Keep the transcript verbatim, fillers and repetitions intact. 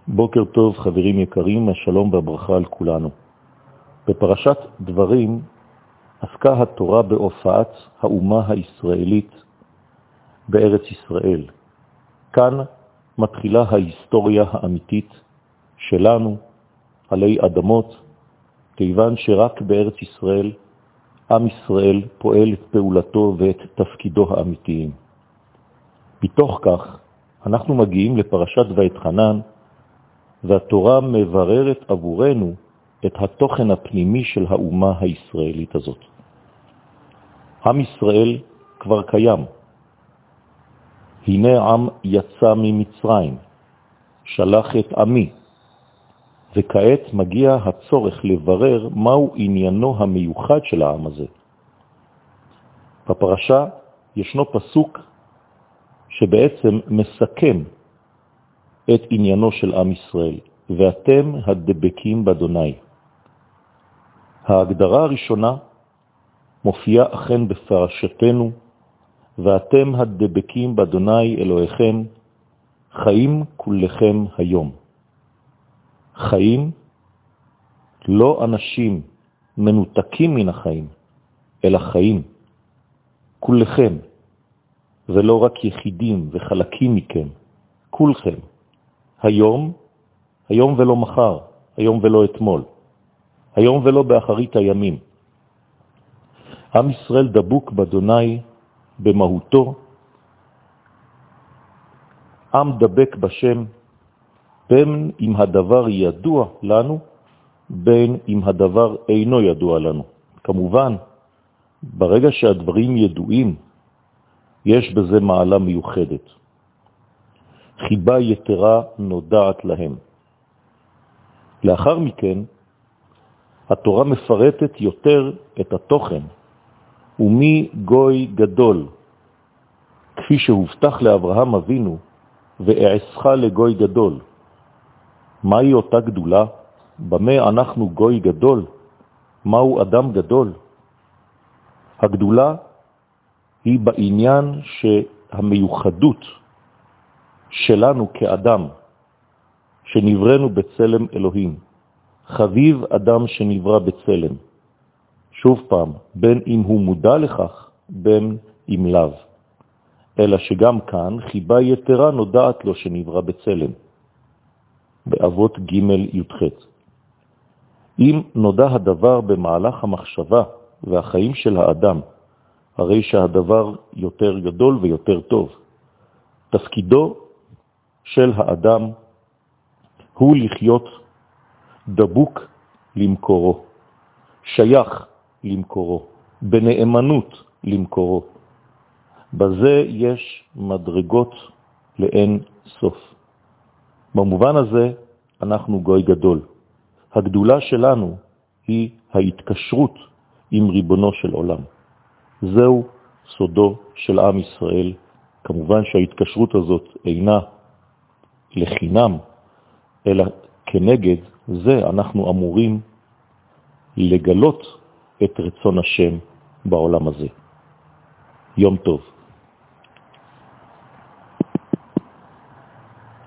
בוקר טוב חברים יקרים, השלום והברכה על כולנו. בפרשת דברים עסקה התורה בהופעת האומה הישראלית בארץ ישראל. כאן מתחילה ההיסטוריה האמיתית שלנו עלי אדמות, כיוון שרק בארץ ישראל עם ישראל פועל את פעולתו ואת תפקידו האמיתיים. בתוך כך אנחנו מגיעים לפרשת ואתחנן, והתורה מבררת עבורנו את התוכן הפנימי של האומה הישראלית הזאת. עם ישראל כבר קיים. הנה עם יצא ממצרים, שלח את עמי, וכעת מגיע הצורך לברר מהו עניינו המיוחד של העם הזה. בפרשה ישנו פסוק שבעצם מסכם את עניינו של עם ישראל, ואתם הדבקים באדוני. ההגדרה הראשונה מופיעה אכן בפרשתנו, ואתם הדבקים באדוני אלוהיכם, חיים כולכם היום. חיים, לא אנשים מנותקים מן החיים, אלא חיים. כולכם, ולא רק יחידים וחלקים מכם, כולכם. היום, היום ולא מחר, היום ולא אתמול, היום ולא באחרית הימים. עם ישראל דבוק באדוני במהותו, עם דבק בשם, בין אם הדבר ידוע לנו, בין אם הדבר אינו ידוע לנו. כמובן, ברגע שהדברים ידועים, יש בזה מעלה מיוחדת. חיבה יתרה נודעת להם. לאחר מכן, התורה מפרטת יותר את התוכן, ומי גוי גדול, כפי שהובטח לאברהם אבינו, ואעשך לגוי גדול. מהי אותה גדולה? במה אנחנו גוי גדול? מהו אדם גדול? הגדולה היא בעניין שהמיוחדות שלנו כאדם, שנברנו בצלם אלוהים. חביב אדם שנברא בצלם. שוב פעם, בין אם הוא מודע לכך, בין אם לאו. אלא שגם כאן חיבה יתרה נודעת לו שנברא בצלם. באבות ג' י"ח. אם נודע הדבר במהלך המחשבה והחיים של האדם, הרי שהדבר יותר גדול ויותר טוב. תפקידו של האדם הוא לחיות דבוק למקורו, שייך למקורו, בנאמנות למקורו. בזה יש מדרגות לאין סוף. במובן הזה אנחנו גוי גדול. הגדולה שלנו היא ההתקשרות עם ריבונו של עולם. זהו סודו של עם ישראל. כמובן שההתקשרות הזאת אינה לחינם, אלא כנגד זה אנחנו אמורים לגלות את רצון השם בעולם הזה. יום טוב.